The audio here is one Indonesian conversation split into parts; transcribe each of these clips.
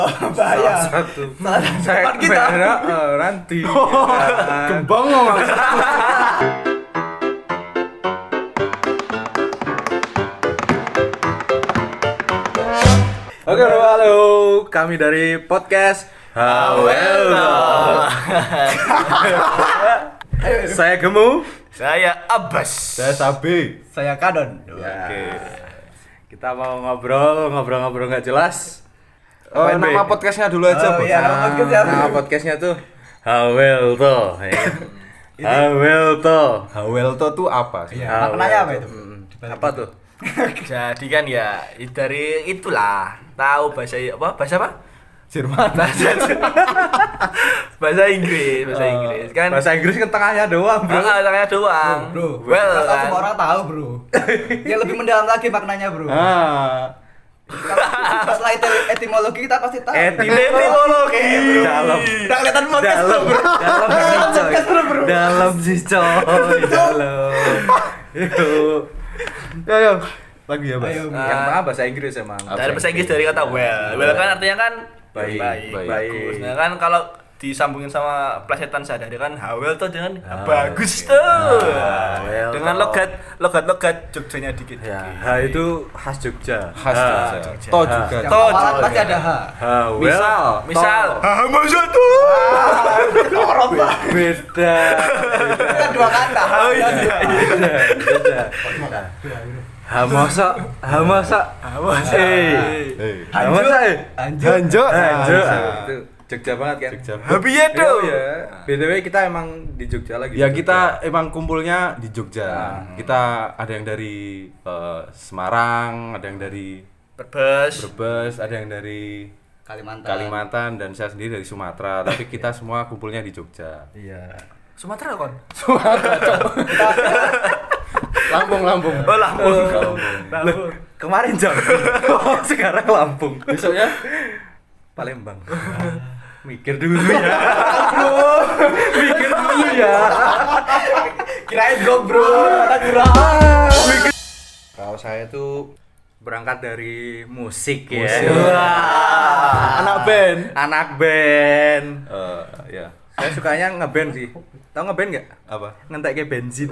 Bahaya. Satu. Saya kita. Ranti. Kembang ngomong. Oke, halo. Kami dari podcast Hawelto. Saya Gemu. Saya Abbas. Saya Sabi. Saya Kadon. Oke. Kita mau ngobrol nggak jelas. Oh, Apain, nama Be? podcastnya dulu aja, Bos. iya. Nama podcastnya tuh Hawelto. Hawelto. Hawelto tuh apa sih? Iya. Maknanya apa itu? Apa tuh? Jadi kan ya dari itulah tahu bahasa apa? Jerman. Bahasa Inggris kan. Bahasa Inggris kan tengahnya doang, bro. Tengahnya doang. Bro, Well, kalau kan. semua orang tahu, Bro. Yang lebih mendalam lagi maknanya, Bro. Ah, Setelah etimologi kita pasti tahu. Etimologi. dalam Udah kelihatan podcast, dalam Bro. dalam sih coy dalam Yo. Lagi ya, Bos. Ayo, yang pertama bahasa Inggris emang Dari bahasa Inggris dari kata well. Well kan artinya kan Baik. bagus. Nah kan kalau disambungin sama plesetan sehari-hari kan hawel tuh dengan bagus tuh. well Dengan tuh. logat Jogjanya dikit. ya itu khas Jogja Khas Jogja. To juga. Yang Toh, awalan juga. pasti ada H. Misal Masa tuh. Orang Pak. beda Kan dua kata. Oh iya. beda hamasa hamasa Anjir. Hanjo itu Jogja banget kan Jogja. Habiye tuh. ya BTW kita emang di Jogja lagi Ya kita emang kumpulnya di Jogja. Kita ada yang dari Semarang, ada yang dari Berbes. Brebes, ada yang dari Kalimantan dan saya sendiri dari Sumatera. Tapi kita semua kumpulnya di Jogja. iya Sumatera kon. Lampung. Oh Lampung. kemarin jam sekarang Lampung Besoknya Palembang mikir dulu ya mikir dulu ya Kirain go, Bro. kalau saya tuh berangkat dari musik ya anak band. anak band Ya. saya sukanya ngeband sih tau ngeband nggak Apa? ngentek kayak bensin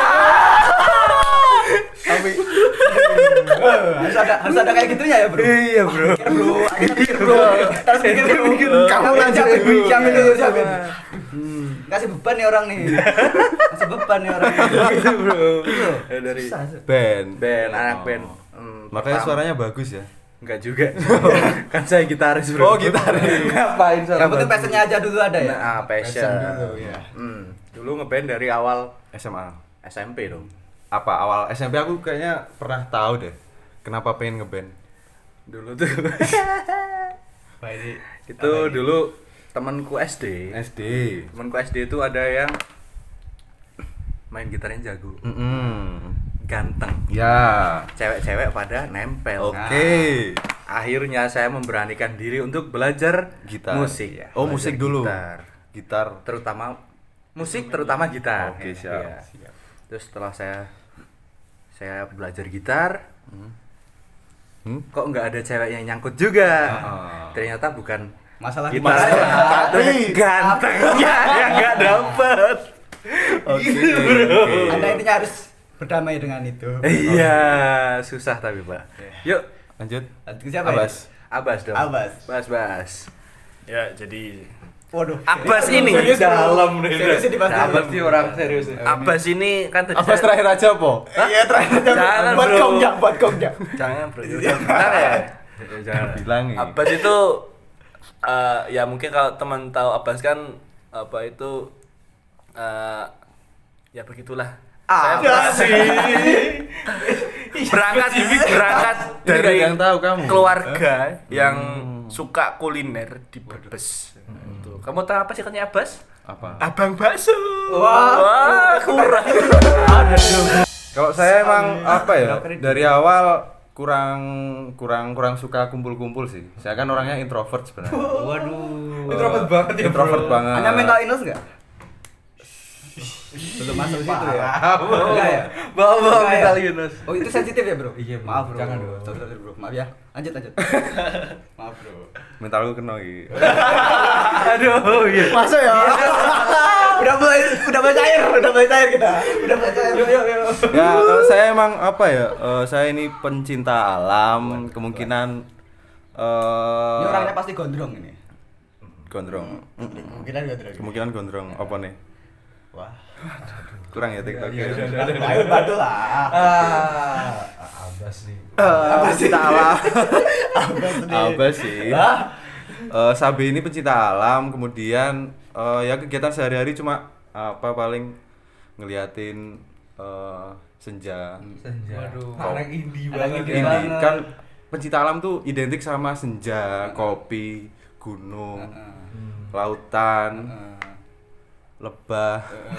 Tapi Harus ada kayak gitunya ya, Bro. iya bro Bro, ayo mikir, Bro. Harus mikir, Bro. Kamu jamin dulu. Kasih beban nih orang nih. Kasih beban nih orang. gitu bro ya, dari band. anak band Makanya pertama. suaranya bagus ya. Enggak juga kan saya gitaris bro Oh, gitaris. ngapain suara Yang penting bagus? passionnya aja dulu ada ya. Nah, passion ya. Dulu ngeband dari awal SMA. SMP dong Apa awal SMP aku kayaknya pernah tahu deh. Kenapa pengen ngeband? dulu tuh Baik. itu dulu temanku SD temanku SD itu ada yang main gitarnya jago ganteng Ya. cewek-cewek pada nempel Oke. akhirnya saya memberanikan diri untuk belajar Gitar. musik ya Oh, belajar musik dulu. gitar terutama gitar Oke, Iya. siap. Terus setelah saya belajar gitar kok nggak ada cewek yang nyangkut juga ternyata bukan Masalah gitar gimana? tapi gantengnya yang nggak dapet Oke. Anda intinya harus berdamai dengan itu. iya susah tapi pak yuk Lanjut. Lanjut ke siapa ya? Abbas. dong Bas Ya jadi Waduh. Abbas ini dalam nih Serius ini pasti. dalam sih orang serius Abbas ini kan tadi Abbas saya- terakhir aja, Po. Iya, terakhir aja. Jangan, buat bro. kongjak. Jangan bro. Bentar ya. jangan Bilangin. Abbas itu ya mungkin kalau teman tahu Abbas kan apa itu ya begitulah. Saya berangkat Ini dari nggak ada yang tahu kamu. keluarga yang suka kuliner di Brebes. Itu. Kamu tahu apa sih katanya Abbas? Apa? Abang bakso. Wah, kurang. Kalau saya emang apa ya? Dari awal kurang suka kumpul-kumpul sih. Saya kan orangnya introvert sebenarnya. Waduh. introvert banget ya Introvert banget. Hanya mental illness enggak? Belum masuk situ ya. Enggak ya? Bawa Enggak ya? kita Linus. Oh, itu sensitif ya, Bro? Iya, Bro. Maaf, Bro. Jangan, Bro. Sorry, Bro. Maaf ya. Lanjut. Maaf, Bro. Mentalku kena iki. Aduh, iya. Masuk ya. udah mulai cair kita. Udah mulai cair. Yuk. Ya, kalau saya emang apa ya? Saya ini pencinta alam, kemungkinan Ini orangnya pasti gondrong ini. gondrong. Kemungkinan gondrong apa nih? Wah. Kurang ya TikTok. Ayo bantu lah. Abas nih. Pencinta alam. Abas sih. Sabi ini pencinta alam, kemudian ya kegiatan sehari-hari cuma apa paling ngeliatin senja. Waduh, anak indie Ini kan pencinta alam tuh identik sama senja, kopi, gunung, lautan, lebah.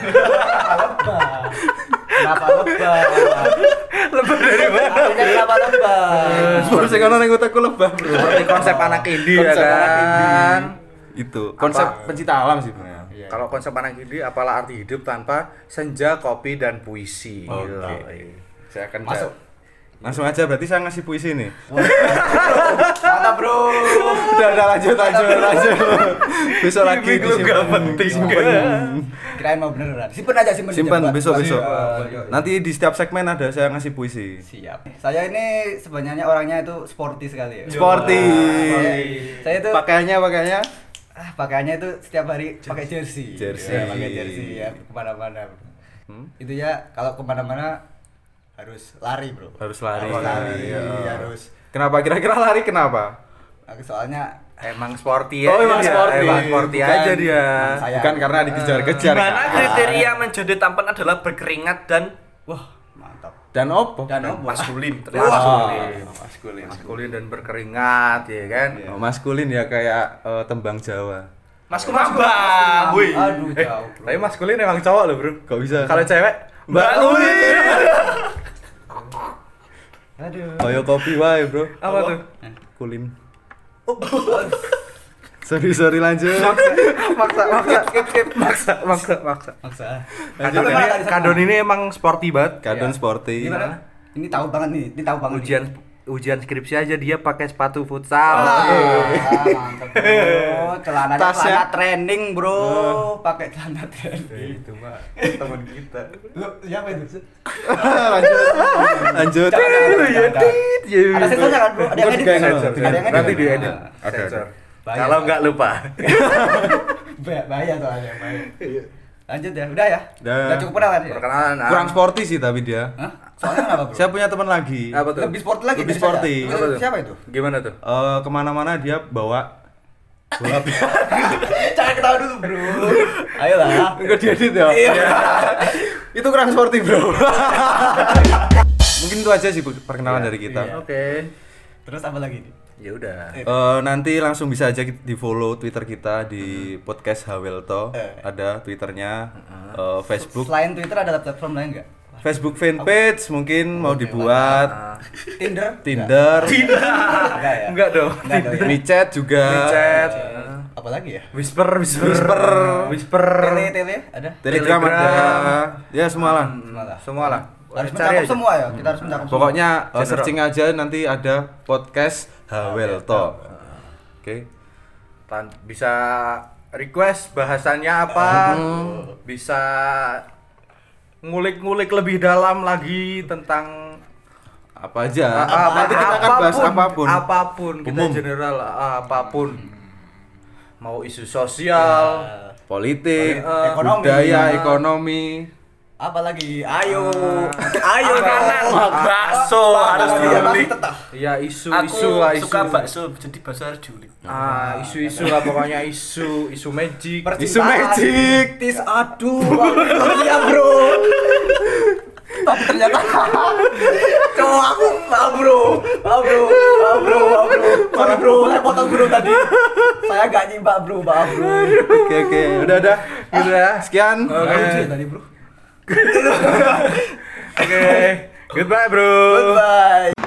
Kenapa lebah? Lebah dari mana? Kenapa lebah? Baru saya kono ning otakku lebah, Bro. Seperti konsep anak indie ya Konsep anak indie. kan. Itu konsep pencinta alam sih sebenarnya. Kalau konsep anak indie apalah arti hidup tanpa senja, kopi dan puisi. Oke. Gila. Saya akan Masuk. Langsung aja berarti saya ngasih puisi nih. Mantap, Bro. Udah lanjut. Besok lagi Gimik lu gak penting. Kirain mau beneran. Simpen aja. Besok. Iya. Nanti di setiap segmen ada saya ngasih puisi. Siap. Saya ini sebenarnya orangnya itu sporty sekali ya. Sporty. Saya itu Pakaiannya pakaiannya itu setiap hari pakai jersey. Jersey. Ya, pakai jersey ya kemana-mana. Itu ya kalau kemana-mana harus lari, Bro. harus lari. Iya, harus. Kenapa kira-kira lari kenapa? Soalnya emang sporty ya. Oh, emang dia. sporty. Emang sporty Bukan. aja dia. Saya- Bukan karena dikejar-kejar. Gimana kan? kriteria menjadi tampan adalah berkeringat dan wah, mantap. Dan opo? Dan apa? maskulin. Maskulin dan berkeringat ya kan. Oh, maskulin ya kayak tembang Jawa. Mas Kumambang, wih. Aduh, jauh, Bro. Tapi maskulin emang cowok loh, Bro. Kok bisa? Kalau cewek Mbak Lulin. Aduh. Koyo kopi wae, Bro. apa tuh? Kulim. Sorry lanjut. Maksa. Maksa. Kadon Gimana ini, tadi, kadon ini emang sporty banget. Kadon Iya. sporty. Gimana? Ini tahu banget nih. Ujian skripsi aja dia pakai sepatu futsal. Mantap, Bro. Celananya Tasnya. celana training, Bro. Pakai celana training. Itu mah teman kita. Lu siapa itu? Lanjut. Ada sensornya kan, Bro? Ada yang edit? Sensor. Ada yang edit? Nanti diedit. Ada. Sensor. Bahaya. Kalau nggak lupa. Bahaya soalnya, bahaya. Lanjut ya, udah ya? Udah. Udah cukup kenalan ya? Perkenalan. Kurang sporty sih tapi dia. Hah? Soalnya kenapa, Bro? Saya punya teman lagi. Apa tuh? Lebih sporty lagi. Lebih dari saya. sporty. Itu Apa tuh? Siapa itu? Gimana tuh? Kemana-mana dia bawa bola. Jangan ketawa dulu, Bro. Ayolah. Enggak diedit ya? Iya. Itu kurang sporty, Bro. Mungkin itu aja sih perkenalan dari kita. Iya. Oke. Terus apa lagi nih? Ya udah. Nanti langsung bisa aja di follow Twitter kita di podcast Hawelto. Ada Twitternya, Facebook, Selain Twitter ada platform lain nggak? Facebook fanpage mungkin mau dibuat, Tinder? Tinder, Enggak ya? Enggak dong. Enggak dong ya? micet juga, Chat. Apa lagi ya? Whisper. Tele ada? Telegram ada, ya semua lah. Semua lah. Harus Cari mencakup aja. semua ya. Kita harus mencakup semua. Pokoknya General. searching aja nanti ada podcast Hawelto. Oke. Bisa request bahasannya apa? Bisa ngulik-ngulik lebih dalam lagi tentang Apa aja? Nanti kita akan bahas apapun. Apapun kita Umum. general apapun. Mau isu sosial, Politik, Ekonomi. budaya, ekonomi. Apa lagi? Ayo. Ayo kanan. Bakso harus diulik. ya Aku isu-isu lah isu. suka bakso, jadi bakso harus diulik. Isu-isu lah pokoknya isu magic. Isu magic. Tis aduh. Iya, Bro. Tapi ternyata cowok aku maaf bro. Sorry bro, saya potong bro tadi. Saya gak nyimak bro, maaf bro. Oke. Udah. Sekian. Lucu tadi bro. Oke. Goodbye, bro. Goodbye.